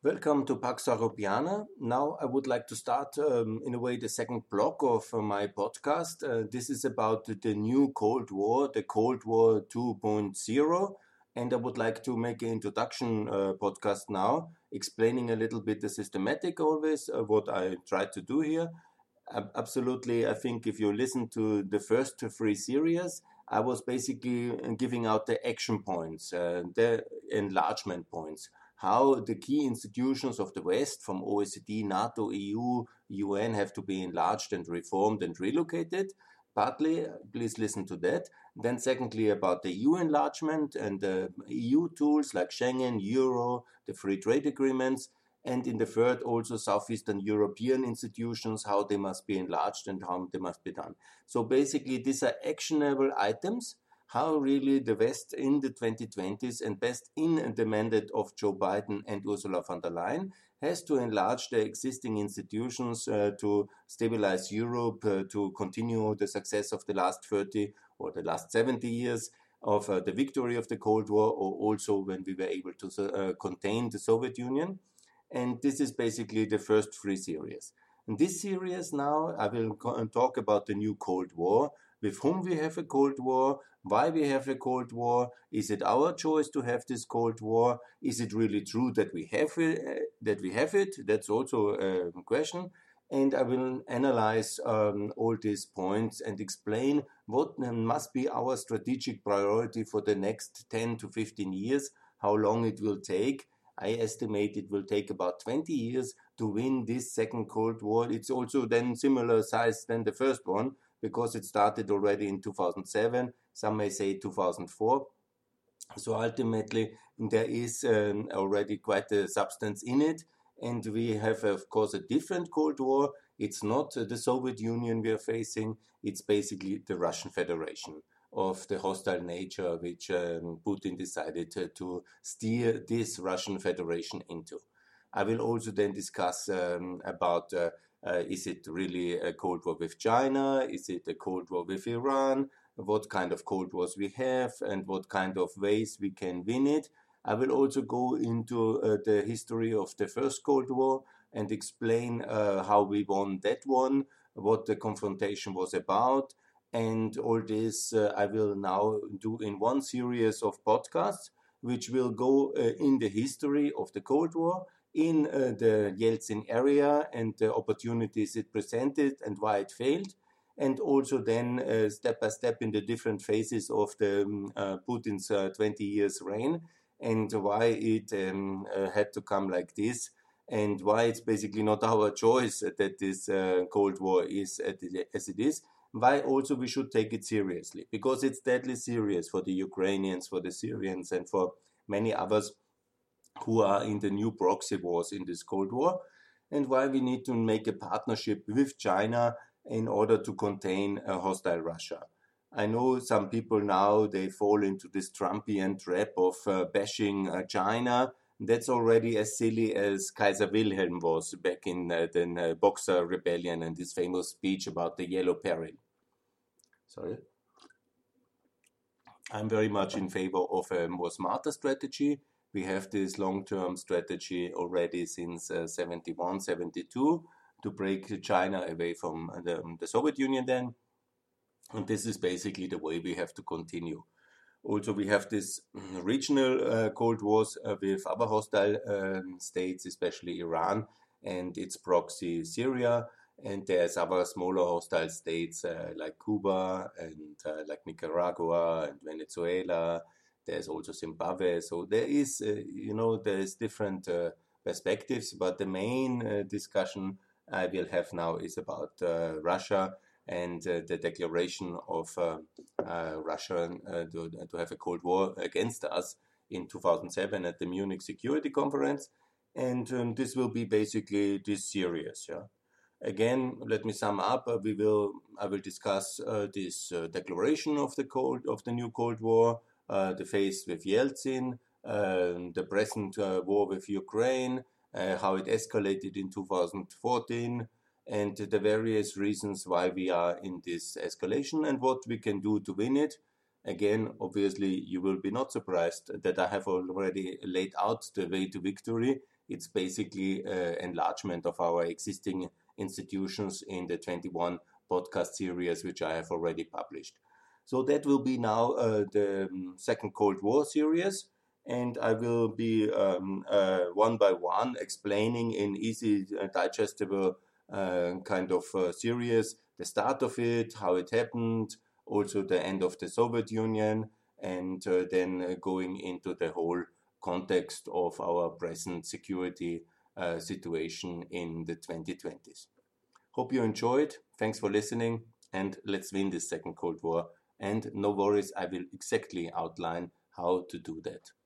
Welcome to Pax Europiana. Now I would like to start, in a way, the second block of my podcast. This is about the new Cold War, the Cold War 2.0. And I would like to make an introduction podcast now, explaining a little bit the systematic always, what I try to do here. Absolutely, I think if you listen to the first three series, I was basically giving out the action points, the enlargement points, how the key institutions of the West, from OECD, NATO, EU, UN, have to be enlarged and reformed and relocated. Partly, please listen to that. Then, secondly, about the EU enlargement and the EU tools like Schengen, Euro, the free trade agreements. And in the third, also Southeastern European institutions, how they must be enlarged and how they must be done. So basically, these are actionable items, how really the West in the 2020s and best in the mandate of Joe Biden and Ursula von der Leyen has to enlarge the existing institutions to stabilize Europe, to continue the success of the last 30 or the last 70 years of the victory of the Cold War, or also when we were able to contain the Soviet Union. And this is basically the first three series. In this series now, I will talk about the new Cold War, with whom we have a Cold War, why we have a Cold War, is it our choice to have this Cold War, is it really true that we have it, that's also a question. And I will analyze all these points and explain what must be our strategic priority for the next 10 to 15 years, how long it will take. I estimate it will take about 20 years to win this second Cold War. It's also then similar size than the first one because it started already in 2007. Some may say 2004. So ultimately, there is already quite a substance in it. And we have, of course, a different Cold War. It's not the Soviet Union we are facing. It's basically the Russian Federation of the hostile nature which Putin decided to steer this Russian Federation into. I will also then discuss about is it really a Cold War with China? Is it a Cold War with Iran? What kind of Cold Wars we have and what kind of ways we can win it. I will also go into the history of the first Cold War and explain how we won that one, what the confrontation was about. And all this I will now do in one series of podcasts, which will go in the history of the Cold War, in the Yeltsin area and the opportunities it presented and why it failed, and also then step by step in the different phases of the Putin's 20 years reign and why it had to come like this, and why it's basically not our choice that this Cold War is as it is. Why also we should take it seriously, because it's deadly serious for the Ukrainians, for the Syrians, and for many others who are in the new proxy wars in this Cold War, and why we need to make a partnership with China in order to contain a hostile Russia. I know some people now, they fall into this Trumpian trap of bashing China. That's already as silly as Kaiser Wilhelm was back in the Boxer Rebellion and his famous speech about the Yellow Peril. Sorry. I'm very much in favor of a more smarter strategy. We have this long-term strategy already since 71, 72 to break China away from the Soviet Union then. And this is basically the way we have to continue. Also, we have this regional Cold Wars with other hostile states, especially Iran and its proxy Syria. And there's other smaller hostile states like Cuba and like Nicaragua and Venezuela. There's also Zimbabwe. So there is, there's different perspectives. But the main discussion I will have now is about Russia and the declaration of Russia to have a Cold War against us in 2007 at the Munich Security Conference. And this will be basically this series. Yeah. Again, let me sum up. I will discuss this declaration of the new Cold War, the phase with Yeltsin, the present war with Ukraine, how it escalated in 2014, and the various reasons why we are in this escalation and what we can do to win it. Again, obviously, you will be not surprised that I have already laid out the way to victory It's basically enlargement of our existing institutions in the 21 podcast series which I have already published. So that will be now the Second Cold War series, and I will be one by one explaining in easy digestible kind of series the start of it, how it happened, also the end of the Soviet Union, and then going into the whole context of our present security situation in the 2020s. Hope you enjoyed. Thanks for listening, and let's win this Second Cold War. And no worries, I will exactly outline how to do that.